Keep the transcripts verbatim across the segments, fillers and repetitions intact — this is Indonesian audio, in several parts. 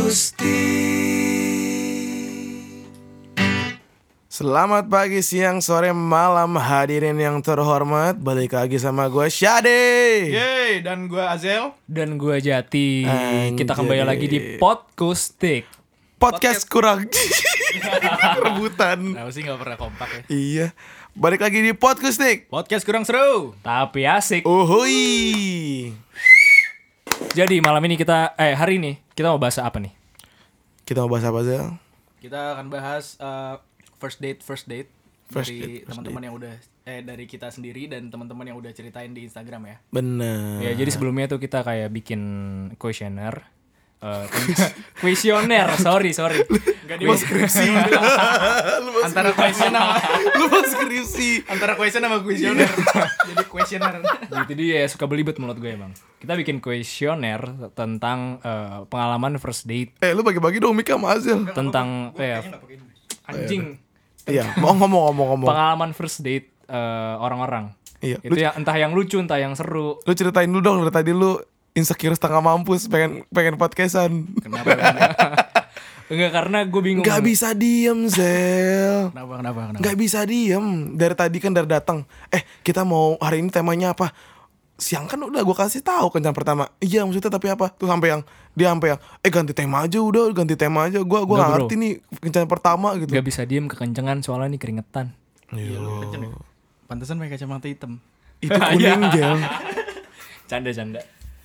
Akustik. Selamat pagi, siang, sore, malam hadirin yang terhormat. Balik lagi sama gue Syade. Yeay, dan gue Azel. Dan gue Jati. Anjay. Kita kembali lagi di Podkustik. Podcast kurang rebutan. Kenapa sih gak pernah kompak ya? Iya. Balik lagi di Podkustik. Podcast kurang seru. Tapi asik. Uhuy. Jadi malam ini kita Eh hari ini kita mau bahas apa nih? Kita mau bahas apa, Zel? Kita akan bahas uh, first date first date First dari date, first teman-teman yang udah eh dari kita sendiri dan teman-teman yang udah ceritain di Instagram ya. Bener. Ya jadi sebelumnya tuh kita kayak bikin kuesioner. Uh, kuesioner, sorry sorry. Enggak Lu mau skripsi. antara question sama Lu mau skripsi. antara question sama questioner. Jadi questioner. Gitu dia suka belibet menurut gue emang. Kita bikin kuesioner tentang uh, pengalaman first date, Eh, lu bagi-bagi dong mic sama Azel. tentang eh anjing. Iya, mau ngomong-ngomong-ngomong. Pengalaman first date uh, orang-orang. Iya, Itu lu, ya entah yang lucu, entah yang seru. lu ceritain dulu dong dari tadi lu insecure setengah mampus pengen pengen podcastan. Kenapa? Enggak, karena gue bingung. Gak bisa diem, Zel. Kenapa? Kenapa? Kenapa? Gak bisa diem. Dari tadi kan dari datang. Eh, kita mau hari ini temanya apa? Siang kan udah gue kasih tahu kencan pertama. Iya, maksudnya tapi apa? Tuh sampai yang dia sampai yang eh ganti tema aja udah, ganti tema aja. Gua gua Nggak, gak bro. ngerti nih kencan pertama gitu. Gak bisa diem kekencengan soalnya nih keringetan. Iya, lu kenceng ya? Pantesan pakai kacamata hitam. Itu kuning, Zel. Canda-canda.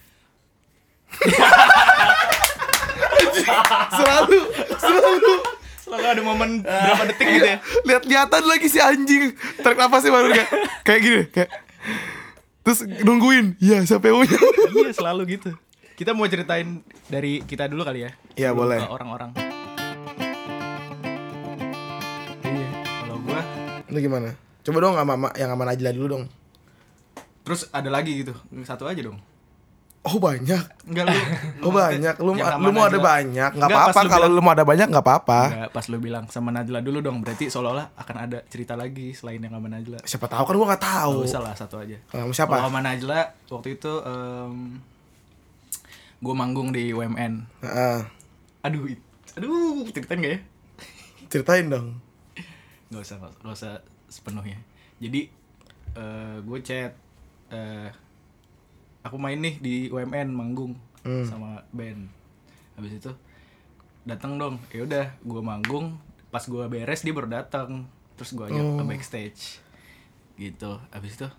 Selalu selalu Selalu ada momen berapa detik gitu ya. lihat-lihatan lagi si anjing. Tarik nafasnya baru kayak kayak gini, kayak terus nungguin. Iya, siapa yang punya? Iya, selalu gitu. Kita mau ceritain dari kita dulu kali ya. Iya, Sebelum boleh. ke orang-orang. Iya, kalau gua Lu gimana? Coba dong sama sama- yang sama Najla dulu dong. terus ada lagi gitu. Satu aja dong. Oh, banyak. Enggak lu. Oh, banyak. Lu Yang lu sama mau ada Najla. banyak, enggak Enggak, apa-apa pas lu kalau bilang- lu mau ada banyak enggak apa-apa. Enggak, pas lu bilang sama Najla dulu dong. Berarti seolah-olah akan ada cerita lagi selain yang sama Najla. Siapa tahu kan gua enggak tahu. Gak usah lah, satu aja. Sama siapa? Kalau sama Najla waktu itu um, gue manggung di U M N. Heeh. Aduh, it- aduh, ceritain gak ya? Ceritain dong. Gak usah, gak usah sepenuhnya. Jadi uh, gue chat, uh, aku main nih di U M N manggung Hmm. sama band. Habis itu datang dong. Ya udah, gue manggung. Pas gue beres dia baru datang. Terus gue ajak Oh. ke backstage. Gitu. Habis itu,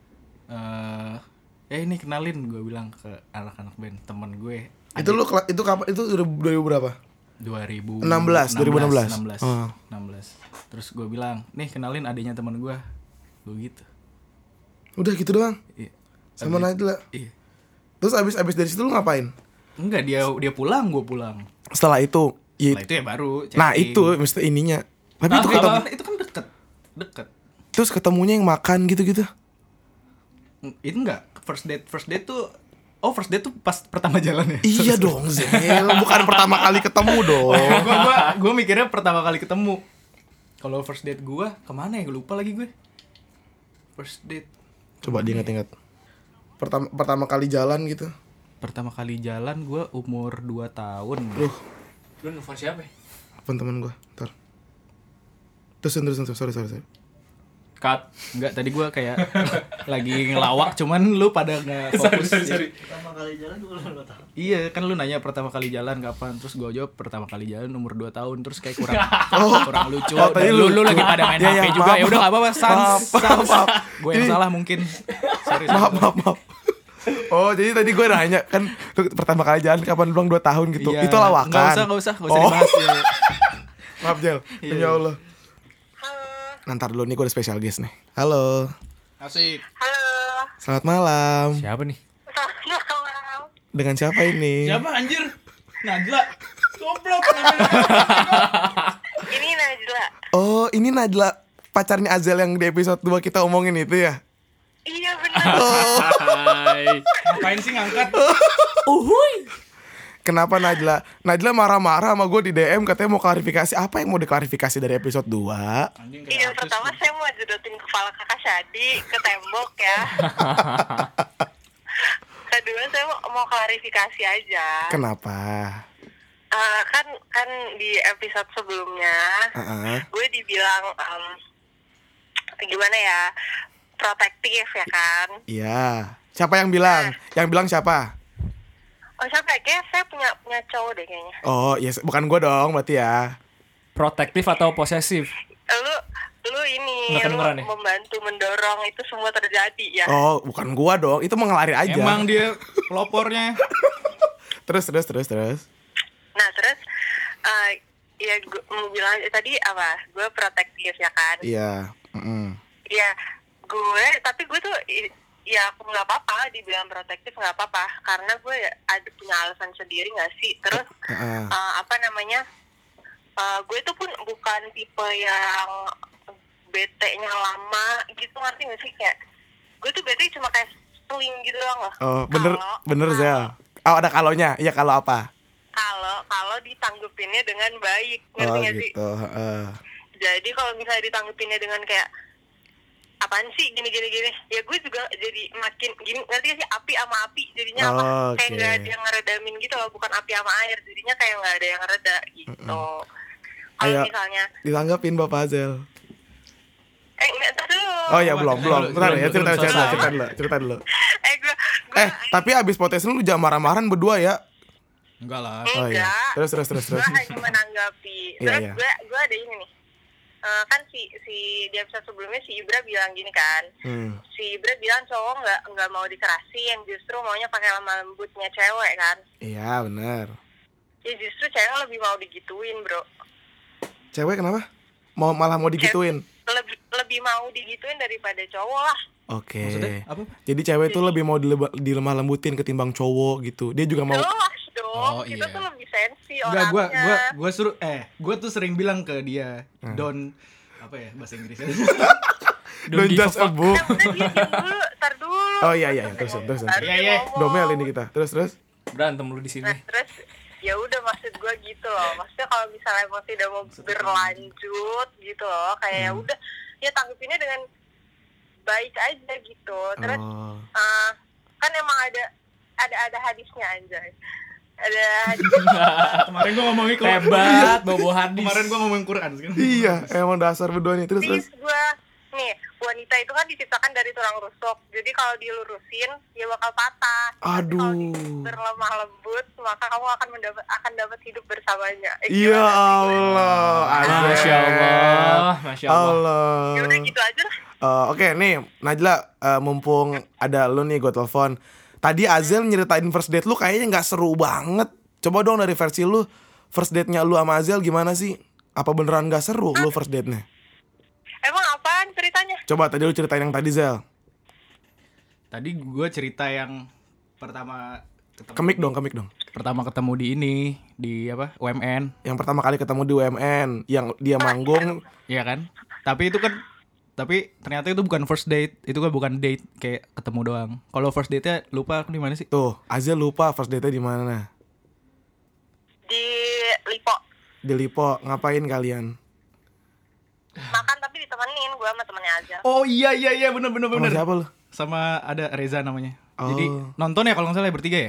uh, eh ini kenalin, gue bilang ke anak-anak band teman gue. Itu lu kela- itu kapan? Itu udah dua ribu berapa? dua ribu enam belas, dua ribu enam belas. enam belas Oh. enam belas. Terus gue bilang, nih kenalin adiknya teman gue. Gue gitu. Udah gitu doang. Iya. Sama Abis- Najla. Iya. Terus abis abis dari situ lu ngapain? Enggak, dia dia pulang, gue pulang. Setelah itu, ya, Setelah itu ya baru chatting. nah itu mesti ininya. Tapi itu Apa? ketemu, Itu kan deket. Deket. terus ketemunya yang makan gitu-gitu. Itu enggak, first date, first date tuh oh first date tuh pas pertama jalan ya? Iya dong, Zel. Bukan pertama kali ketemu dong. gue gua, gua mikirnya pertama kali ketemu. Kalau first date gue, kemana ya? Gue lupa lagi gue. First date. Coba diingat-ingat. Pertama pertama kali jalan gitu. Pertama kali jalan gue umur dua tahun. Loh, Lu nelfon siapa? apa teman gua? Ntar. Terus terus terus sorry sorry sorry. Cut. Enggak, tadi gue kayak lagi ngelawak, cuman lu pada nggak fokus. Sorry, sorry, sorry. Pertama kali jalan gue nggak tahu. Iya, kan lu nanya pertama kali jalan kapan, terus gue jawab pertama kali jalan umur dua tahun, terus kayak kurang kurang lucu. Oh, tadi Dan lu, lucu. lu lagi pada main Iya, H P iya, juga. maaf, Ya udah enggak apa-apa, sans. maaf, maaf, maaf. Gue yang Ini- salah mungkin. Sorry, Maaf sorry. maaf maaf. Oh, jadi tadi gue nanya kan lu pertama kali jalan kapan, lu bilang dua tahun gitu. Iya, Itu lawakan. Enggak usah, enggak usah, enggak usah Oh. dibahas ya. Maaf, Jel. Iya. Ya Allah. Nanti dulu nih, gue ada special guest nih. Halo. Asik. Halo, Selamat malam. Siapa nih? selamat malam. Dengan siapa ini? Siapa anjir? Najla. Goblok. Ini Najla. Oh, ini Najla, pacarnya Azel yang di episode dua kita omongin itu ya? Iya benar. Hai. Ngapain sih ngangkat? Kenapa Najla? Najla marah-marah sama gue di D M, katanya mau klarifikasi. Apa yang mau diklarifikasi dari episode dua? Anjing Iya, kayak artis. pertama saya mau jodotin kepala kakak Syadi ke tembok ya. Kedua saya mau, mau klarifikasi aja. Kenapa? eh, kan kan di episode sebelumnya Heeh. gue dibilang em, gimana ya, protektif ya kan. Iya. Siapa yang bilang? Yang bilang siapa? Oh siapa ya? Kayaknya saya punya punya cowok deh kayaknya. Oh, yes, bukan gua dong berarti ya. Protektif atau posesif? Lu lu ini Nggak lu kedengeran ya? membantu mendorong itu semua terjadi ya. Oh, bukan gua dong. Itu mengelari aja. Emang dia pelopornya. Terus terus terus terus. Nah terus eh, ya gue mau bilang eh, tadi apa? Gue protektif ya kan. Iya. Mm-mm. Iya, gue tapi gue tuh i- ya aku nggak apa-apa dibilang protektif, nggak apa-apa karena gue ya ada punya alasan sendiri nggak sih. Terus Heeh. eh, apa namanya, eh, gue tuh pun bukan tipe yang bete-nya lama gitu, ngerti nggak sih? Kayak gue tuh bete cuma kayak seling gitu doang loh. Oh, bener Kalau- bener kalau- Zel. Oh, ada kalonya. Iya, kalau apa? Kalau kalau ditanggepinnya dengan baik, ngerti Oh, nggak sih? gitu. Heeh. Jadi kalau misalnya ditanggepinnya dengan kayak apaan sih gini gini gini, ya gue juga jadi makin gini, ngerti gak sih, api sama api jadinya apa, Oh, kayak oke. nggak ada yang ngeredamin gitu loh, bukan api sama air, jadinya kayak nggak ada yang reda gitu. Kalau Ayo. misalnya Ditanggapin Bapak Zel. eh nggak ntar dulu. Oh iya, belum, belum. Belum, Bentar ya, belum, cerita belum cerita selesai. cerita dulu, cerita dulu. eh gue gue Eh, tapi abis potensi lu jangan marah-marahan berdua ya. Enggak lah. Oh iya. enggak, Terus terus terus gue terus. hanya menanggapi. Iya, Terus iya. gue gue ada ini nih. Eh, kan si si di episode sebelumnya si Ibra bilang gini kan, Hmm. si Ibra bilang cowok nggak nggak mau dikerasin, justru maunya pakai lemah lembutnya cewek kan. Iya, benar. Ya justru cewek lebih mau digituin bro, Cewek kenapa? Mau malah mau digituin. lebih lebih mau digituin daripada cowok lah. Oke. Maksudnya apa? Jadi cewek tuh lebih mau dileba- dilemah lembutin ketimbang cowok gitu. Dia juga mau. Jelas dong, Oh, kita iya. tuh lebih sensi Enggak, orangnya. gua gua gua suruh eh gua tuh sering bilang ke dia, Hmm. don apa ya bahasa Inggrisnya? Don't give a judge a fuck. book. Eh, udah dia diam dulu, tar dulu. Oh iya iya, iya. Terus terus. terus. Baru Iya, dia iya. ngomong. Domel ini kita. Terus terus. Berantem lu di sini. Nah terus ya udah, maksud gue gitu loh, maksudnya kalau misalnya emang tidak mau berlanjut gitu loh, kayak ya Hmm. udah ya tanggepinnya dengan baik aja gitu. Terus Oh. eh, kan emang ada ada ada hadisnya anjay, ada hadis. Kemarin gua ngomongin Quran. Hebat, bobo hadis. Kemarin gua ngomongin Quran sekarang. Iya, emang dasar berdua nih. Terus terus. Please gue nih, wanita itu kan diciptakan dari tulang rusuk, jadi kalau dilurusin ya bakal patah. Tapi kalau Aduh. di- berlemah lembut maka kamu akan mendapat akan dapat hidup bersamanya. Eh, Ya gimana sih? Allah. Masya Azel. Allah, Masya Allah. Allah. Ya udah gitu aja lah. Eh, Oke nih Najla, eh, mumpung ada lu nih gue telepon. Tadi Azel nyeritain first date lu kayaknya nggak seru banget. Coba dong dari versi lu, first date-nya lu sama Azel gimana sih? Apa beneran nggak seru lu first date-nya? Emang apaan ceritanya? Coba tadi lu ceritain yang tadi Zel. Tadi gua cerita yang pertama ketemu Kemik dong, kemik dong. pertama ketemu di ini di apa? U M N, Yang pertama kali ketemu di U M N, yang dia manggung. iya kan? Tapi itu kan tapi ternyata itu bukan first date, itu kan bukan date, kayak ketemu doang. Kalau first date-nya lupa aku di mana sih? Tuh, Azel lupa first date-nya di mana. Di Lipo. Di Lipo, ngapain kalian? Makan tapi ditemenin gue sama temennya aja. Oh iya iya iya bener bener Sama bener. siapa lu? Sama ada Reza namanya. Oh. Jadi nonton ya kalau nggak salah ya bertiga ya?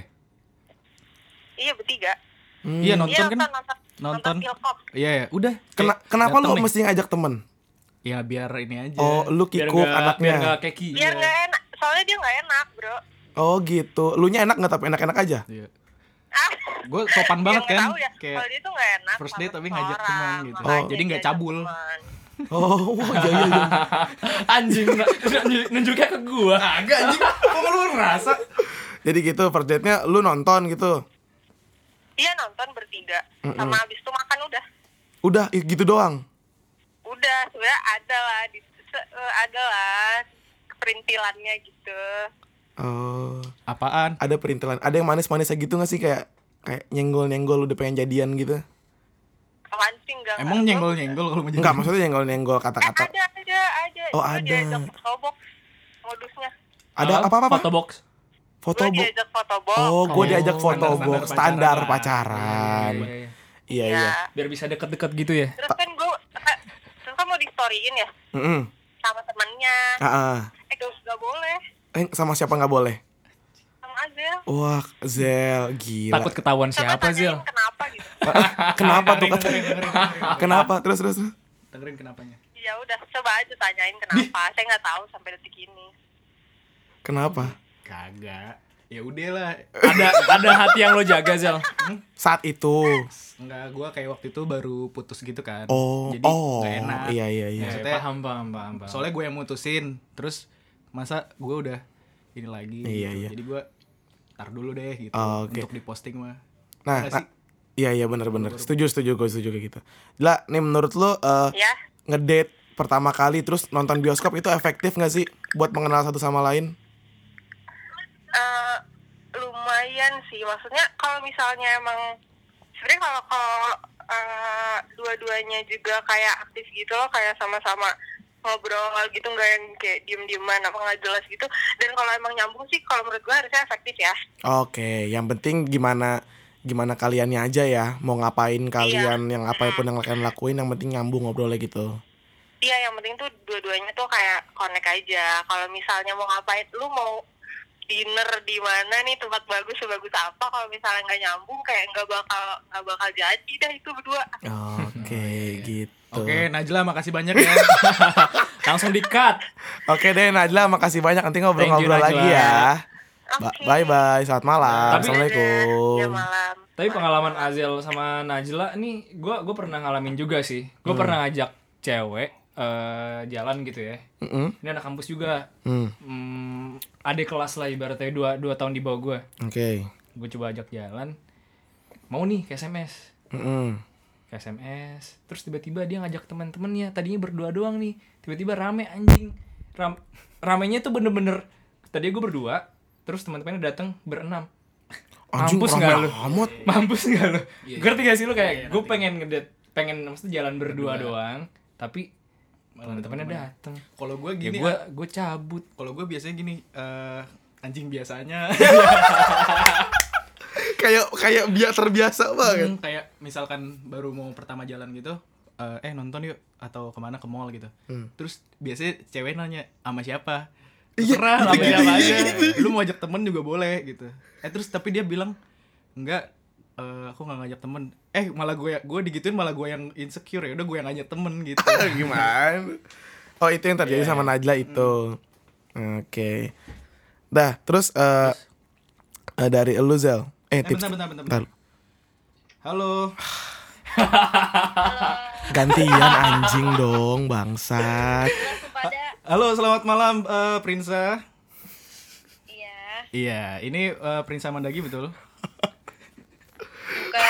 Iya bertiga. Hmm. Iya nonton Iya kan? nonton nonton Nonton. nonton Pilkop. Iya ya, udah. Kena, Kayak kenapa dateng lu nih. mesti ngajak temen? Ya biar ini aja. Oh, lu Biar kikuk nggak- anaknya. Biar gak keki. Biar nggak enak, soalnya dia nggak enak bro. Oh gitu. Lu nya enak nggak tapi enak-enak aja? Iya. Ah, Gue sopan banget ya nggak kan. tahu ya. Kayak Kalau dia tuh nggak enak. first sama date tapi seseorang, ngajak teman gitu. makanya Oh. Jadi nggak diajak cabul. teman. Oh, wah, iya iya iya. Anjing, nunjuk- nunjuknya ke gua. Agak anjing. Kok lu ngerasa? Jadi gitu first date-nya lu nonton gitu. Iya nonton bertiga. Mm-mm. Sama abis itu makan udah. Udah i- gitu doang. Udah sebenarnya ada lah, di, se- eh, ada lah perintilannya gitu. Oh, Apaan? ada perintilan. Ada yang manis-manisnya gitu gak sih, kayak kayak nyenggol-nyenggol udah pengen jadian gitu? Apaan sih enggak? Emang nyenggol-nyenggol kalau mau jadi? Enggak, maksudnya nyenggol-nyenggol Eh, kata-kata. ada ada ada. Oh, Gua ada. diajak fotobox modusnya. Ada apa-apa? Foto box. Foto Gue bu. diajak fotobox. Oh, gue Oh, diajak foto standar-standar box standar pacaran. pacaran. Iya, iya, iya. Iya Ya. iya. Biar bisa deket-deket gitu ya. Terus kan gue terus kan mau di storyin ya Heeh. sama temennya. Heeh. Eh gak, gak boleh Eh, sama siapa nggak boleh? sama Azel. Wah, Zel, gila. Takut ketahuan Coba siapa, tanyain Zil? kenapa gitu. Kenapa tuh? Dengerin, dengerin, dengerin. Kenapa? Terus terus. terus. Dengerin kenapanya. Ya udah, coba aja tanyain kenapa. Saya nggak tahu sampai detik ini. Kenapa? Kagak. Ya udah lah. Ada ada hati yang lo jaga, Zel. Hmm? Saat itu. Enggak, gua kayak waktu itu baru putus gitu kan. Oh, Jadi oh. nggak enak. Iya iya iya. Ya, Maksudnya- paham, paham, paham, paham. Soalnya gue yang mutusin. Terus masa gue udah ini lagi. Iya, gitu. iya. Jadi gue tar dulu deh gitu Oh, oke. untuk diposting mah. Nah, Nggak nah, sih? iya iya benar-benar. Setuju setuju gue setuju kayak gitu. Lah, nih menurut lo eh, Ya, ngedate pertama kali terus nonton bioskop itu efektif nggak sih buat mengenal satu sama lain? eh, lumayan sih. Maksudnya kalau misalnya emang sebenarnya kalau kalau eh, dua-duanya juga kayak aktif gitu loh, kayak sama-sama ngobrol gitu, nggak yang kayak diem-dieman apa nggak jelas gitu. Dan kalau emang nyambung sih, kalau menurut gue harusnya efektif ya. Oke, yang penting gimana gimana kaliannya aja ya, mau ngapain kalian, yang apapun yang kalian lakuin, yang penting nyambung ngobrolnya gitu. Iya, yang penting tuh dua-duanya tuh kayak connect aja. Kalau misalnya mau ngapain, lu mau dinner di mana nih, tempat bagus sebagus apa, kalau misalnya nggak nyambung kayak nggak bakal nggak bakal jadi dah itu berdua. Oke, gitu. Oke, Najla makasih banyak ya. Langsung di-cut. Oke deh Najla, makasih banyak, nanti Thank you, ngobrol-ngobrol Najla. lagi ya. Ba- Oke. bye bye, selamat malam. Tapi- Assalamualaikum. Ya malam. Tapi pengalaman Azel sama Najla nih, gue gue pernah ngalamin juga sih. Gue Hmm. pernah ngajak cewek eh, jalan gitu ya. Mm-mm. Ini anak kampus juga. Hmm, Hmm, adik kelas lah ibaratnya dua dua tahun di bawah gue. Oke. Gue coba ajak jalan. Mau nih ke S M S. Mm-mm. Ke S M S. Terus tiba-tiba dia ngajak teman-temannya. Tadinya berdua doang nih. Tiba-tiba rame anjing. Ram ramenya tuh bener-bener. Tadi gue berdua. Terus teman-temannya datang berenam. Anjing, Mampus rame nggak lu? amat. Mampus nggak lo? Iya, Ngerti gak sih lu iya, kayak iya, gue ngerti. pengen ngedate, pengen maksudnya jalan berdua Berdua. doang, tapi Malah teman-temannya teman-temannya. dateng. Kalau gue Ya gini, gue gue cabut. kalau gue biasanya gini, eh, anjing biasanya. Kayak kayak biar terbiasa banget. Hmm, kayak misalkan baru mau pertama jalan gitu, eh, eh nonton yuk atau kemana ke mall gitu. Hmm. Terus biasanya cewek nanya sama siapa? Iya, Terserah gitu, sama gitu, siapa gitu, aja. Lu mau ajak temen juga boleh gitu. Eh terus tapi dia bilang enggak, eh, aku nggak ngajak temen. Eh malah gue gue digituin malah gue yang insecure, ya udah gue yang ngajak temen gitu. Gimana? Oh, itu yang terjadi Iya. sama Najla itu. Oke. Dah, terus eh eh, dari elu Zel. Eh, Eh, tips. bentar, bentar, bentar, bentar. Halo. Gantian anjing dong, bangsat. Kepada Halo, selamat malam eh, Prinsa. iya, Iya, ini eh, Prinsa Mandagi betul? bukan.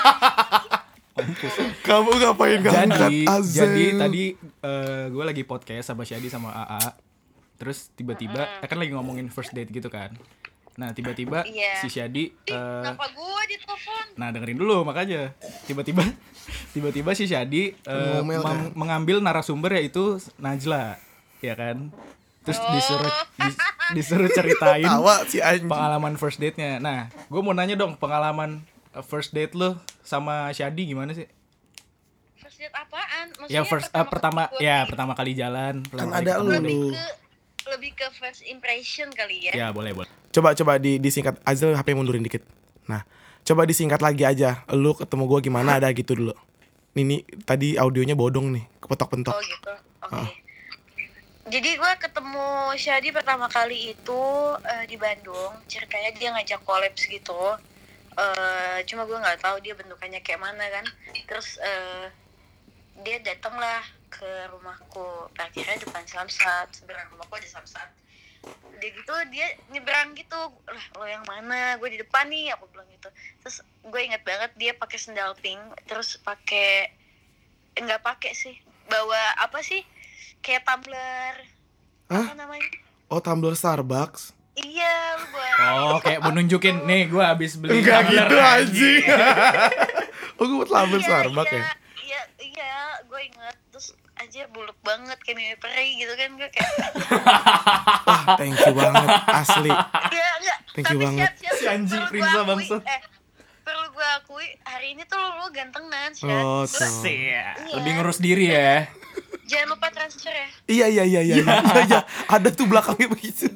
Kamu ngapain ngangkat Jadi, Azel? jadi tadi eh, gue lagi podcast sama Syadi sama A A. Terus tiba-tiba, eh, kan lagi ngomongin first date gitu kan. Nah tiba-tiba Iya. si Syadi, eh, Kenapa gue ditelepon? nah dengerin dulu makanya. Tiba-tiba, tiba-tiba si Syadi eh, Ngomel mem- mengambil narasumber yaitu Najla, ya kan. Terus disuruh dis- disuruh ceritain Tawa si anjing. pengalaman first date-nya. Nah, gue mau nanya dong pengalaman eh, first date lo sama Syadi gimana sih? First date apaan? Ya Maksudnya first eh, pertama kali gua ya date? pertama kali jalan. Kan pertama kali ada ketemu. lu. lebih ke lebih ke first impression kali ya. Ya boleh boleh. Coba coba di disingkat Azel, H P mundurin dikit. Nah, coba disingkat lagi aja. Lu ketemu gua gimana, ada gitu dulu. Nih, nih tadi audionya bodong nih, kepetok-pentok. Oh gitu. Oke. Jadi gue ketemu Syadi pertama kali itu eh, di Bandung. Ceritanya dia ngajak kolaps gitu. Eh, cuma gue nggak tahu dia bentukannya kayak mana kan. Terus eh, dia datang lah ke rumahku. Parkirnya depan Samsat. Seberang rumahku ada Samsat. Dia gitu dia nyebrang gitu. Lah lo yang mana? Gue di depan nih. Aku bilang gitu. Terus gue inget banget dia pakai sendal pink. Terus pakai nggak pakai sih. Bawa apa sih? Kayak tumbler. Hah? Apa namanya? Oh, tumbler Starbucks. Iya, lu buat. Oh, kayak mau nunjukin nih gue habis beli Enggak tumbler. gitu anjing. Oh, gue buat tumbler Iya, Starbucks iya, ya. Iya, iya, gue inget. Terus anjir buluk banget kayak mimi peri gitu kan gue kayak. Wah, thank you banget, asli. Iya, enggak. Thank you Tapi banget. siap-siap, Si anjing perlu Prinsa gua akui, bangsat. Eh, perlu gue akui hari ini tuh lu, lu gantengan, Syed. Oh, Lu- tuh. Iya. Iya. Lebih ngurus diri ya. Jangan lupa transfer ya. Iya iya iya iya iya iya. Ada tuh belakangnya begitu.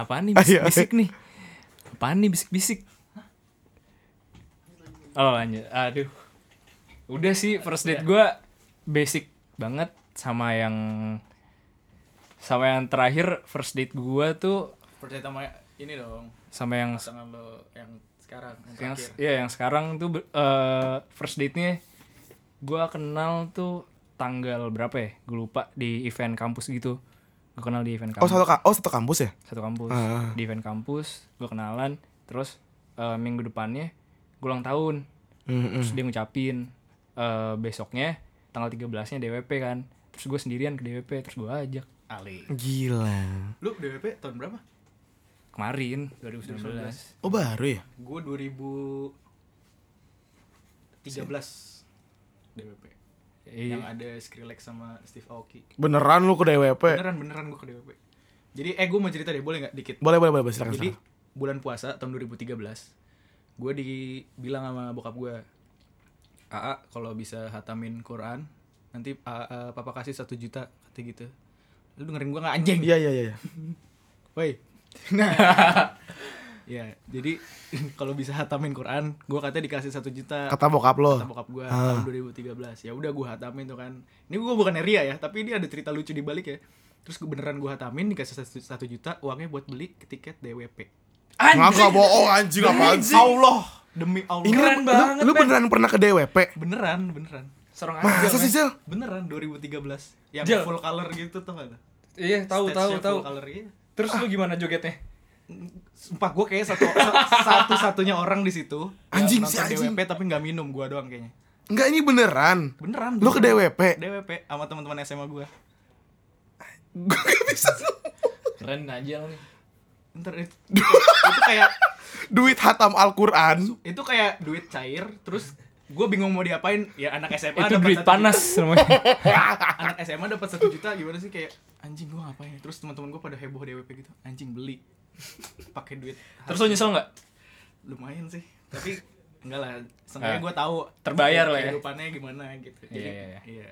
apaan nih bisik-bisik nih? Apaan nih bisik-bisik? Oh lanjut, aduh. Udah sih first date gue basic banget sama yang sama yang terakhir first date gue tuh Percaya sama ini dong. sama yang Pasangan lo yang sekarang, yang yang terakhir. ya yang sekarang tuh uh, first date-nya gue kenal tuh tanggal berapa ya? Gue lupa di event kampus gitu. Gue kenal di event Oh kampus. satu ka- oh satu kampus ya? Satu kampus. Ah. Di event kampus gue kenalan, terus uh, minggu depannya gue ulang tahun. Mm-mm. Terus dia ngucapin uh, besoknya tanggal tiga belasnya D W P kan. Terus gue sendirian ke D W P, terus gue ajak Ali. Gila. Lu D W P tahun berapa? kemarin dua ribu sembilan belas. Oh baru ya? Gue dua ribu tiga belas D W P. Iya. Yang ada Skrillex sama Steve Aoki. Beneran lu ke D W P? Beneran beneran gue ke D W P. Jadi eh gue mau cerita deh, boleh nggak dikit? Boleh boleh boleh silakan. Jadi silakan. bulan puasa tahun dua ribu tiga belas gue dibilang sama bokap gue, Aa kalau bisa hatamin Quran nanti A- A- papa kasih satu juta kata gitu. Lu dengerin gue nggak anjing? Iya iya iya. Woi. Nah. Ya, jadi kalau bisa hatamin Quran, gue katanya dikasih satu juta. Kata bokap lo. Kata bokap gue Ah. tahun dua ribu tiga belas. Ya udah gue hatamin tuh kan. Ini gue bukan ria ya, tapi ini ada cerita lucu di balik ya. Terus gue beneran gue hatamin dikasih satu, satu juta, uangnya buat beli tiket D W P. Nggak bohong anjing apaan sih? Allah, demi Allah. Ini Keren lu, banget, lu Ben. beneran pernah ke D W P? Beneran, beneran. Serong Masa sih Zel? Beneran dua ribu tiga belas. Yang Jel. full color gitu tuh gak? Iya, tahu tahu Stage-nya tahu. full color gitu. Terus lu gimana jogetnya? Sumpah gue kayak satu satu-satunya orang di situ Anjing, yang si nonton anjing. D W P tapi nggak minum, gue doang kayaknya. Enggak ini beneran. Beneran. Lu ke D W P? D W P sama teman-teman S M A gue. Gue gak bisa. Keren aja nih. Ntar itu, itu kayak Duit hatam Al-Quran. itu kayak duit cair, terus gue bingung mau diapain. Ya anak S M A Itu dapat duit satu panas namanya. juta. Anak S M A dapat satu juta gimana sih, kayak anjing gue ngapain? Terus teman-teman gue pada heboh D W P gitu. Anjing beli. Pakai duit. Terus lu nyesel nggak? Lumayan sih. Tapi enggak lah. Seenggaknya Ah, gue tahu terbayar lah ya. kehidupannya gimana gitu. Jadi, Iya, iya, iya.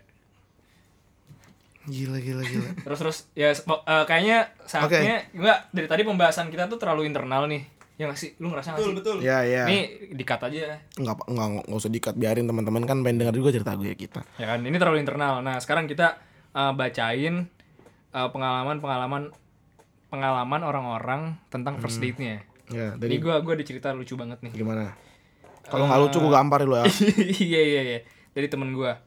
Gila gila gila. Terus terus ya uh, kayaknya saatnya enggak dari tadi pembahasan kita tuh terlalu internal nih. Ya nggak sih? Lu ngerasa nggak sih? betul. Ya ya. Nih di-cut aja. Enggak enggak enggak usah dikat, biarin teman-teman kan pengen denger juga cerita gue kita. Ya kan, ini terlalu internal. Nah, sekarang kita uh, bacain uh, pengalaman-pengalaman pengalaman orang-orang tentang first date-nya. Ya, Ini dari gua gua ada cerita lucu banget nih. gimana? Kalau nggak lucu gue gamparin lo ya. Iya iya iya. Dari temen gua.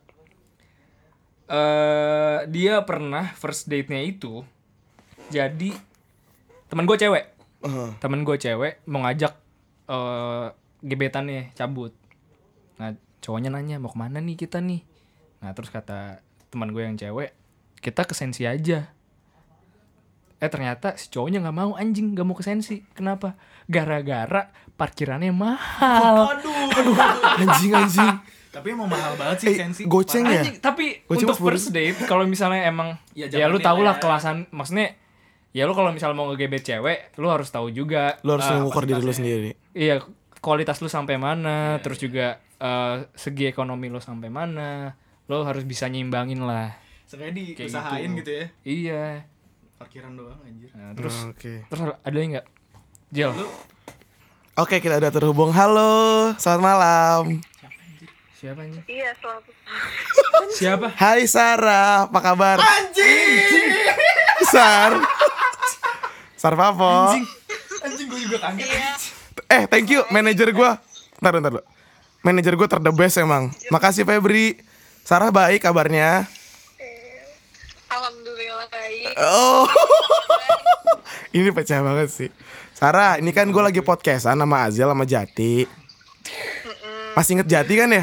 Eh dia pernah first date-nya itu jadi temen gua cewek. Heeh. Temen gua cewek mau ngajak eh gebetannya cabut. Nah, cowoknya nanya, "Mau kemana nih kita nih?" Nah, terus kata teman gue yang cewek, "Kita ke Sensi aja." Eh ternyata si cowoknya nggak mau, anjing, nggak mau ke Sensi. Kenapa? Gara-gara parkirannya mahal. Aduh. Anjing anjing. Tapi emang mahal banget sih Eh, sensi. goceng ya? Anjing, tapi Gua cuma untuk first date kalau misalnya emang Ya, ya, lu zamannya tau lah ya. kelasan, maksudnya ya lu kalau misalnya mau ngegebet cewek, lu harus tahu juga Lo harus eh, mengukur diri lo sendiri. iya kualitas lu sampai mana, terus juga eh, segi ekonomi lu sampai mana, lu harus bisa nyimbangin lah. Sengaja Kayak diusahain gitu. gitu. ya. Iya. Parkiran doang anjir. Nah, terus Oke. terus ada yang nggak? Jel. Lu Oke, kita udah terhubung. Halo, selamat malam. Siapa anjing? Iya, selalu. Siapa? Hai Sarah, apa kabar? Anjing. Sar. Sar Papo. anjing gue juga kaget. Iya. Eh, thank you manajer gua. Bentar, bentar, dulu. Manajer gua ter the best emang. Makasih Febri. Sarah baik kabarnya. Alhamdulillah baik. Oh. Ini pecah banget sih. Sarah, ini kan gue lagi podcastan sama Azel sama Jati. Masih inget Jati kan ya?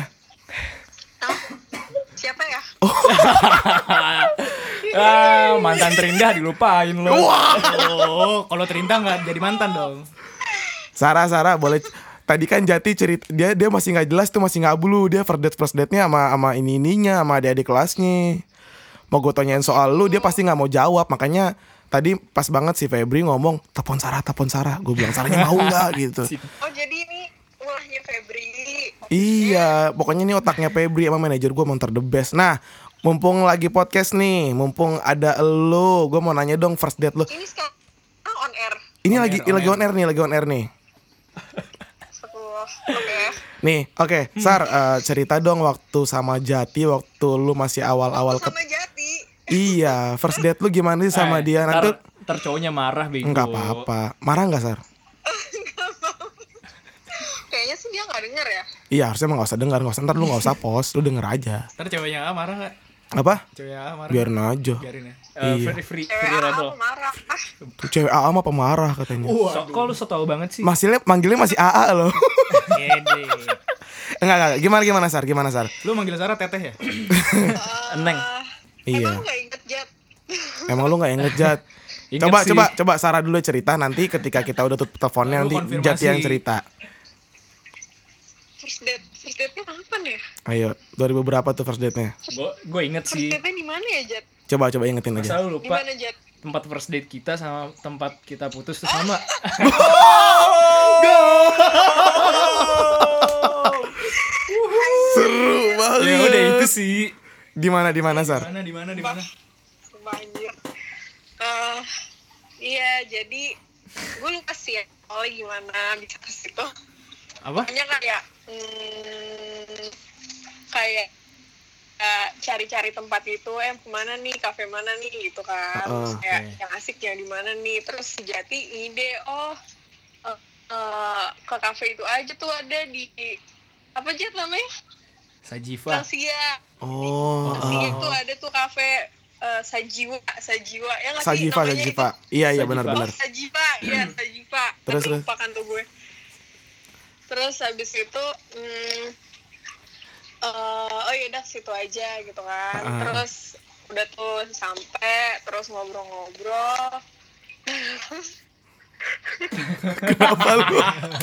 Siapa ya? Ah, mantan terindah dilupain lo. Oh, kalau Terinta nggak jadi mantan dong. Sarah, Sarah boleh. Tadi kan Jati cerita dia dia masih nggak jelas tuh, masih nggak bulu, dia first date first date-nya sama sama ini ininya sama adik-adik kelasnya. Mau gue tanyain soal lu, dia pasti nggak mau jawab. Makanya tadi pas banget si Febri ngomong telepon Sarah, telepon Sarah. Gue bilang Sarahnya mau nggak gitu. Oh, jadi ini ulahnya Febri. Iya, pokoknya ini otaknya Febri sama manajer gue emang ter the best. Nah, mumpung lagi podcast nih, mumpung ada lo, gue mau nanya dong first date lo. Ini sekarang on air. Ini On lagi air, on lagi air. on air nih, lagi on air nih. Astagfirullah. Oke. Nih, oke, Sar, eh, cerita dong waktu sama Jati waktu lu masih awal-awal ke Sama Jati. Iya, first date lu gimana sih sama Eh, dia? ntar, Nanti ntar cowoknya marah bego. enggak apa-apa. Marah enggak, Sar? Kayaknya sih dia nggak denger ya. Iya, harusnya emang gak usah dengar, gak usah, ntar lu gak usah post, lu denger aja. Ntar ceweknya A marah gak? Apa? Ceweknya A marah. Biarin aja. Biarin ya. Eh, Iya. free free, Cewek free A rebel. aku marah. Ah, Tuh cewek A A mah pemarah katanya. So, kok lu so tau banget sih? Masih manggilnya masih A A loh. Gede. Enggak, enggak, gimana gimana Sar? Gimana Sar? Lu manggil Sarah teteh ya? Eneng. Iya. Emang nggak inget Jat? Emang lu gak inget Jat? Inget Coba sih. coba coba Sarah dulu cerita, nanti ketika kita udah tutup teleponnya Lu nanti konfirmasi. Jat yang cerita. First date, first date-nya kapan ya? Ayo, dua ribu berapa tuh first date-nya? Gue gue inget First sih. date-nya di mana ya Jat? Coba coba ingetin aja. Selalu Di lupa mana Jat? tempat first date kita sama tempat kita putus tuh sama. Seru banget. Ya udah itu sih. Di mana di mana Sar? Mana di mana di mana? Banjir. Eh, iya jadi gue lupa sih ya. Oh gimana bisa ke situ? Apa? Hanya kayak hmm, kayak eh, cari-cari tempat itu, eh kemana nih, kafe mana nih gitu kan. Uh-uh, Terus kayak oke. yang asik yang di mana nih. Terus si Jati ide, oh eh, eh, ke kafe itu aja tuh ada di apa Jat namanya? Sajiva. Lansia. Oh, Lansia ah. itu ada tuh kafe eh, Sajiwa, Sajiwa ya nggak sih Sajiva namanya Sajiva. itu? Iya iya Sajiva. benar-benar. Oh, Sajiva, iya Sajiva. Terus, Kan terus. lupa kan tuh gue. Terus habis itu, hmm, eh, oh yaudah situ aja gitu kan. Ah. Terus udah tuh sampai, terus ngobrol-ngobrol. Kenapa lu?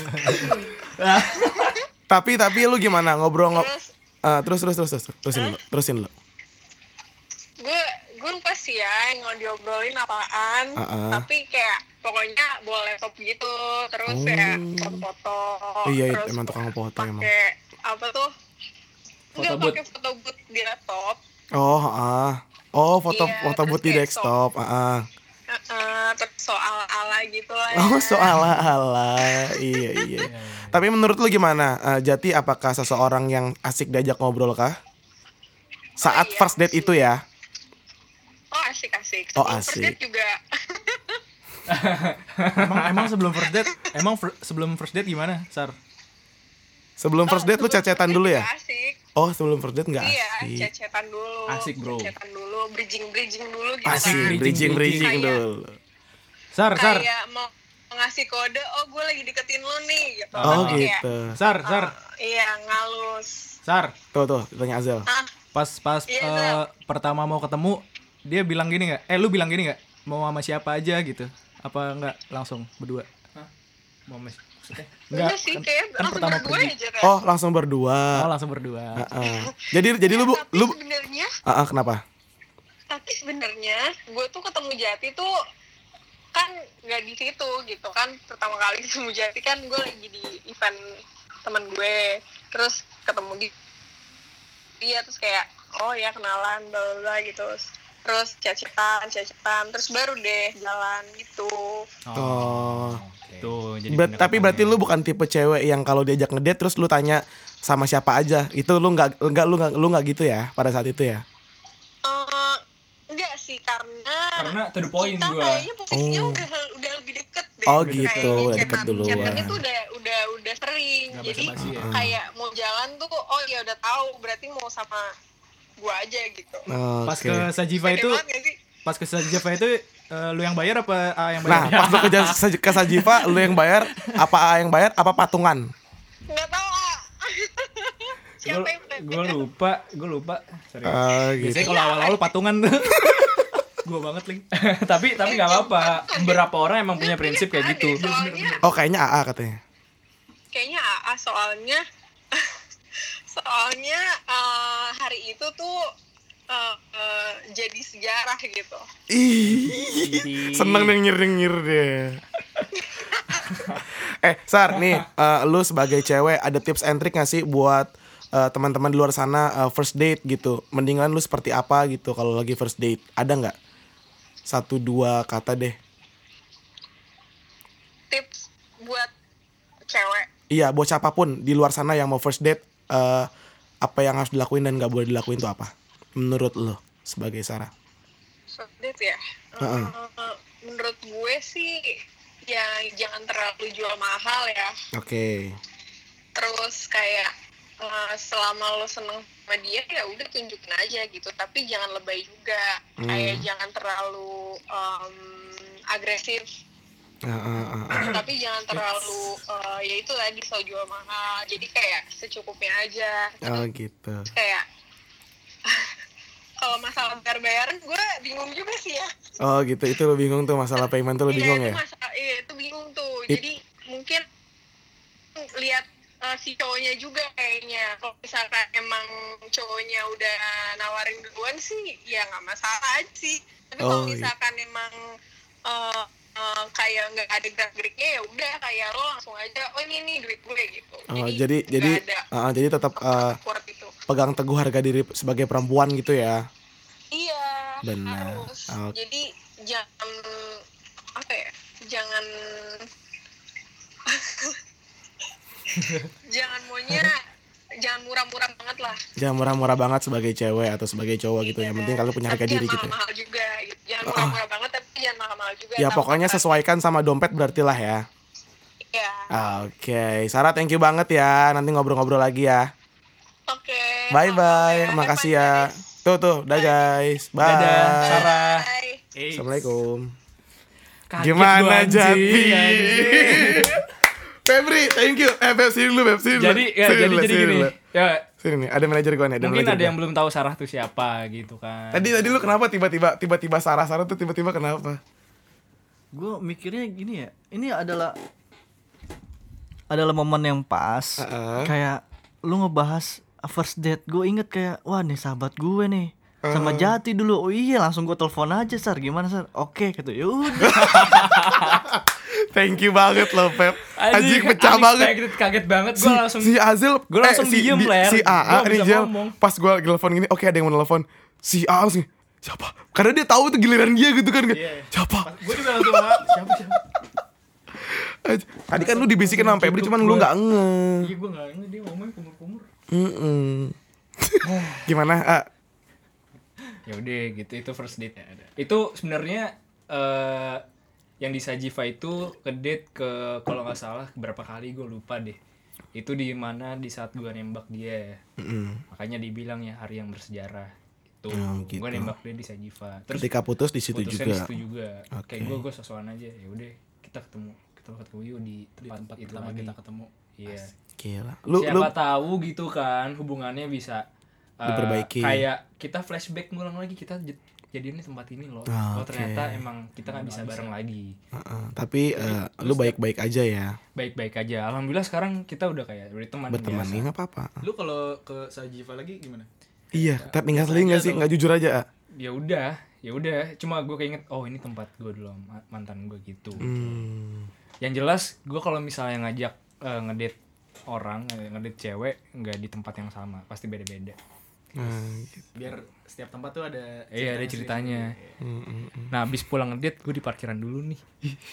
tapi tapi lu gimana ngobrol ngob Terus Ah, terus terus terus terus terusin dulu, terusin dulu. gue gue lupa sih ya yang mau diobrolin apaan. Ah-ah. Tapi kayak pokoknya bawa laptop gitu. Terus Oh. kayak foto-foto. Iya, terus emang tukang foto emang. pakai apa tuh? Enggak Foto booth. pakai foto booth di laptop. Oh, ah. Oh, foto Iya, foto terus booth di kayak desktop, ah. Uh, terus soal ala gitu lah ya. Oh, soal ala. Iya, iya. Tapi menurut lu gimana? Eh, Jati apakah seseorang yang asik diajak ngobrol kah? Saat iya, first date asik. itu ya? Oh asik asik. Oh, Sebelum asik. first date juga. Emang emang sebelum first date, emang fir- sebelum first date gimana, Sar? Sebelum first date lu Sebelum cecetan first dulu date ya? juga Asik. Oh, sebelum first date enggak Iya, asik. cecetan dulu. Asik, bro. Cecetan dulu, bridging bridging dulu gitu Asik, kan. bridging bridging Kayak- dulu. Sar, Sar, Kayak mau ngasih kode, oh gue lagi deketin lu nih gitu. Oh, Kayak, gitu. Sar, uh, Sar, iya ngalus. Sar. Tuh tuh, tanya Azel. Ah, Pas pas Iya, eh, Sar. pertama mau ketemu, dia bilang gini nggak? Eh, lu bilang gini nggak? Mau sama siapa aja gitu? Apa enggak langsung berdua? Mau mes. Maksudnya? enggak sih kan- kayak kan langsung pertama berdua pergi. aja kan. Oh, langsung berdua. Oh, langsung berdua. Heeh. Jadi jadi lu bu, Tapi lu sebenarnya ah ah, kenapa? tapi sebenarnya gue tuh ketemu Jati tuh kan nggak di situ gitu kan. Pertama kali ketemu Jati kan gue lagi di event teman gue, terus ketemu di dia, terus kayak oh ya kenalan bla bla bla gitu, terus chat-chatan chat-chatan terus baru deh jalan gitu. Oh. Tuh, jadi Ber- tapi berarti pendekatannya. lu bukan tipe cewek yang kalau diajak ngedate terus lu tanya sama siapa aja. Itu lu nggak nggak lu nggak lu nggak gitu ya pada saat itu ya? Eh, enggak sih karena Karena to the point kita gua. kayaknya posisinya Oh. udah udah lebih deket deh. Oh, Kayaknya gitu, udah deket chatan- duluan. chatannya tuh udah udah udah sering. Nggak Jadi basa-basi ya? kayak mau jalan tuh oh ya udah tahu berarti mau sama gua aja gitu. Pas Oke. ke Sajiva Pede itu, banget nggak sih? pas ke Sajiva itu eh, lu yang bayar apa A yang Nah, bayar? pas lu ke, Jas- Saj- ke Sajiva, lu yang bayar, apa A yang bayar, apa patungan? Nggak tahu ah. Siapa yang Gue lupa, gue lupa. Sorry. Ah, gitu. Biasanya kalau awal-awal patungan tuh. Gua banget link. tapi tapi nggak apa-apa. Beberapa orang emang punya prinsip kayak gitu. Soalnya Oh, kayaknya A A katanya. kayaknya A A soalnya soalnya eh, hari itu tuh eh, eh, jadi sejarah gitu. Ih, seneng deh nyir-nyir deh. eh, Sar, nih, eh, lu sebagai cewek ada tips and trick gak sih buat eh, teman-teman di luar sana eh, first date gitu? Mendingan lu seperti apa gitu kalau lagi first date? Ada nggak? Satu dua kata deh. tips buat cewek. Iya, buat siapapun di luar sana yang mau first date, uh, apa yang harus dilakuin dan gak boleh dilakuin itu apa? Menurut lo sebagai Sarah? First date ya? Uh-uh. Uh, menurut gue sih ya jangan terlalu jual mahal ya. Oke. Okay. Terus kayak uh, selama lo seneng sama dia ya udah tunjukin aja gitu. Tapi jangan lebay juga. Hmm. Kayak jangan terlalu um, agresif. Uh, uh, uh, uh. Tapi jangan terlalu uh, ya itu tadi so jual mahal. Jadi kayak secukupnya aja. Oh gitu. Kayak kalau masalah bayar-bayaran gue bingung juga sih ya. Oh gitu, itu lo bingung tuh masalah payment tuh lo bingung iya, ya? Itu masalah, iya itu bingung tuh. It... Jadi mungkin lihat uh, si cowoknya juga kayaknya. Kalau misalkan emang cowoknya udah nawarin duluan sih ya nggak masalah aja sih. Tapi kalau Oh, misalkan iya. emang uh, Uh, kayak nggak ada gerak-geriknya ya udah kayak lo langsung aja oh ini nih duit gue gitu. Oh, jadi jadi jadi ada uh, jadi tetap uh, itu. pegang teguh harga diri sebagai perempuan gitu ya. Iya. Benar. Harus. Oh. Jadi jangan apa ya? Jangan jangan maunya jangan murah-murah banget lah. Jangan murah-murah banget sebagai cewek atau sebagai cowok gitu ya. Yang penting kalau punya harga tapi diri jangan gitu. Ya. mahal-mahal juga gitu. Jangan murah-murah banget tapi jangan mahal-mahal juga. Ya Tahu pokoknya kan? sesuaikan sama dompet berarti lah ya. Iya. Oke, okay. Sarah thank you banget ya. Nanti ngobrol-ngobrol lagi ya. Oke. Okay, bye bye. Makasih ya. Guys. Tuh tuh, dah guys. Bye. Dadah, Sarah. Bye. Hey. Assalamualaikum. Kaget Gimana gua, anjing, Jati? anjing. Febri, thank you. Eh, Feb, sini dulu, Feb, sini dulu. Jadi ya, Sini jadi dulu, jadi sini gini. dulu. Ya, Sini nih, ada manajer gue nih. Ada mungkin manajer ada gua. yang belum tahu Sarah tuh siapa gitu kan. Tadi tadi lu kenapa tiba-tiba tiba-tiba Sarah Sarah tuh tiba-tiba kenapa? Gue mikirnya gini ya, ini adalah adalah momen yang pas. Uh-uh. Kayak lu ngebahas first date, gue inget kayak wah nih sahabat gue nih sama Jati dulu. Oh iya, langsung gue telepon aja, Sar. Gimana, Sar? Oke gitu. Ya udah. Thank you banget loh, Pep. Anjing pecah banget. Kaget banget Si, gue langsung. si Azil, Gua langsung si, diem, di- Ler. si A A Gua nih bisa Jel, ngomong. pas gue nelfon gini, oke ada yang mau nelfon. Si A langsung, siapa? Karena dia tahu itu giliran dia gitu kan. Iya. Siapa? Gue juga langsung siapa siapa. Aj- Tadi kan lu dibisikin sama Febri, cuman lu nggak nge. Iya gue nggak ngerti dia ngomongin kumur-kumur. Mm-mm. Gimana? A? Ya udah gitu, itu first date ya ada. Itu sebenarnya eh yang di Sajiva itu ke date ke kalau nggak salah berapa kali gue lupa deh. Itu di mana di saat gue nembak dia. Mm-mm. Makanya dibilang ya hari yang bersejarah. Itu Oh, gitu. gue nembak dia di Sajiva. Terus Ketika putus di situ putusnya juga. di situ juga. Oke. Kayak gue gue sosokan aja. Ya udah kita ketemu kita ketemu yuk di tempat, tempat itu pertama lagi. kita ketemu. Iya. Gila. Lu Siapa lu tahu gitu kan hubungannya bisa uh, Diperbaiki. kayak kita flashback ngulang lagi, kita j- jadinya di tempat ini loh. Ah, Oh oke. ternyata emang kita nggak bisa bareng lagi. Uh-uh. Tapi uh, lu baik-baik aja ya. Baik-baik aja. Alhamdulillah sekarang kita udah kayak udah teman Berteman biasa. nih nggak apa-apa. Lu kalau ke Sajiva lagi gimana? Iya, tapi tinggal biasa selingkuh aja nggak sih? atau- Nggak jujur aja. A? Ya udah, ya udah. Cuma gue keinget, oh ini tempat gue dulu ma- mantan gue gitu. Hmm. Yang jelas gue kalau misalnya ngajak uh, ngedate orang, eh, ngedate cewek nggak di tempat yang sama, pasti beda-beda. Nah, gitu. Biar setiap tempat tuh ada Iya ada ceritanya. Nah abis pulang ngedate gue di parkiran dulu nih.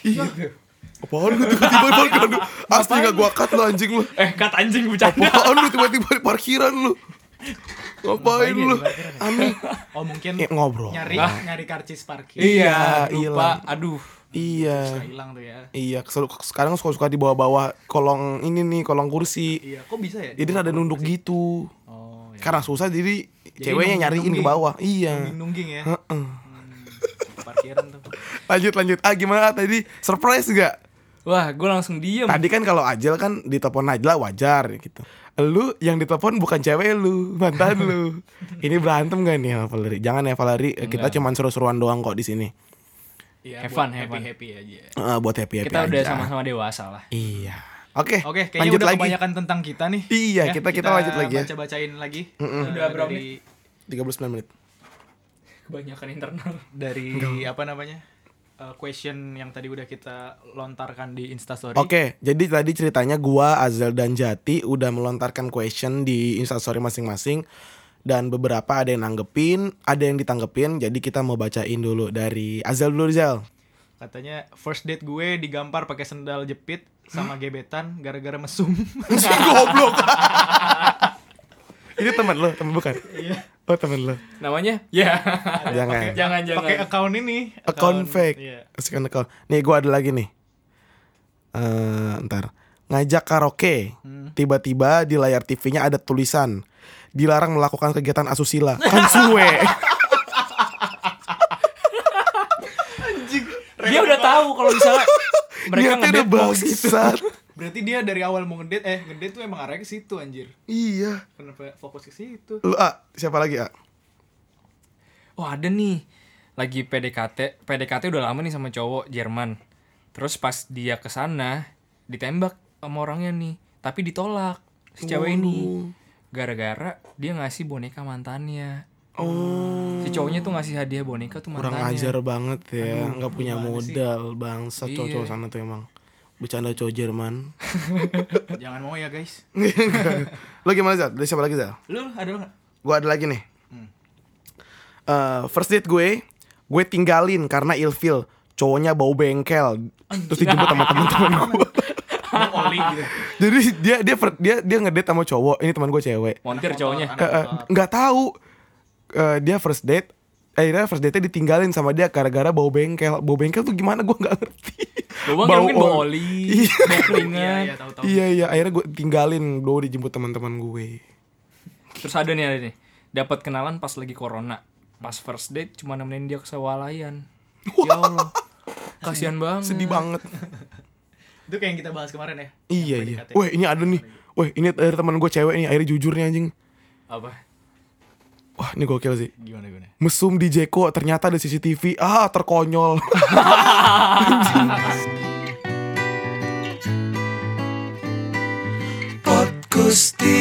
Apaan lu tiba-tiba di parkiran lu? Asli gak gua cut lu anjing lu. Eh kat anjing bercanda. Apaan lu tiba-tiba di parkiran lu? Ngapain lu? Aneh. Oh mungkin Ya, ngobrol. nyari Ah. nyari karcis parkir. Iya, lupa. hilang. Aduh. Iya. Suka hilang tuh ya. Iya, kesel- sekarang suka-suka di bawah-bawah kolong ini nih, kolong kursi. Iya, kok bisa ya? Jadi rada nunduk gitu. Oh, iya. Karena susah jadi, Jadi ceweknya nyariin ke nungging-nungging. bawah. Iya. Nungging-nungging ya. Heeh. Parkiran tuh. Lanjut lanjut. Ah gimana tadi? Surprise gak? Wah gue langsung diem. Tadi kan kalau Ajel kan ditelepon Najla wajar gitu. Lu yang ditelepon bukan cewek lu, mantan lu. Ini berantem gak nih sama Valerie? Jangan ya Valerie, kita cuma seru-seruan doang kok di sini. Iya, Have buat fun, have fun. happy-happy aja. Uh, buat happy happy Kita aja. udah sama-sama dewasa lah. Iya. Oke. Oke, kayaknya lanjut udah lagi. kebanyakan tentang kita nih. Iya, kita- kita lanjut lagi ya. Baca-bacain lagi. Mm-mm. Eh, Udah berapa dari tiga puluh sembilan menit. Kebanyakan internal. dari apa namanya? eh, question yang tadi udah kita lontarkan di Instastory. Oke, jadi tadi ceritanya gua, Azel dan Jati udah melontarkan question di Instastory masing-masing. Dan beberapa ada yang nanggepin, ada yang ditanggepin. Jadi kita mau bacain dulu dari Azel dulu, Zel. Katanya first date gue digampar pakai sendal jepit sama gebetan gara-gara mesum. Goblok. Ini teman lo, teman bukan? Iya. Oh teman lo. Namanya? Ya. Jangan. Jangan jangan. Pakai account ini. Account fake. Iya. Account account. Nih gue ada lagi nih. Eh, ntar ngajak karaoke. Hmm. Tiba-tiba di layar T V-nya ada tulisan dilarang melakukan kegiatan asusila. Kan suwe. Dia udah tahu kalau misalnya mereka Niatnya udah ngedate bos. bangsat. Berarti dia dari awal mau ngedate eh ngedate tuh emang arahnya ke situ anjir. Iya. Kenapa fokus ke situ? Lu A, siapa lagi A? Oh ada nih. Lagi P D K T. P D K T udah lama nih sama cowok Jerman. Terus pas dia kesana ditembak sama orangnya nih. Tapi ditolak si cewek ini. Gara-gara dia ngasih boneka mantannya. Oh. Si cowoknya tuh ngasih hadiah boneka tuh mantannya. Kurang ajar banget ya. Nggak punya gimana modal. Bangsat Iya. cowok-cowok sana tuh emang. Bercanda cowok Jerman. Jangan mau ya guys. Lo gimana Zal? Dari siapa lagi Zal? Lu ada lu nggak? Gue ada lagi nih. Hmm. Eh, first date gue, gue tinggalin karena ilfil. Cowoknya bau bengkel. Terus dijemput sama teman-teman gue. Mau oli gitu. Jadi dia dia fir- dia dia ngedate sama cowok. Ini teman gue cewek. Montir cowoknya. Anak Eh, eh, motor. nggak tahu. Eh, dia first date. Akhirnya first date-nya ditinggalin sama dia gara-gara bau bengkel. Bau bengkel tuh gimana gue nggak ngerti. Bau bengkel mungkin bau oli, Iya. bau Iya, keringat. iya, tahu-tahu. Iya iya. Akhirnya gue tinggalin. Gue dijemput teman-teman gue. Terus ada nih ada nih. Dapat kenalan pas lagi corona. Pas first date cuma nemenin dia ke sewalayan. Ya Allah. Kasihan banget. Sedih banget. Itu kayak yang kita bahas kemarin ya. Iya Yang iya. P D K T. Wah ini ada nih. Wah ini dari teman gue cewek nih. Akhirnya jujur nih anjing. Apa? Wah ini gokil sih. Gimana gimana? Mesum di Jeko ternyata ada C C T V. Ah terkonyol. Podkusti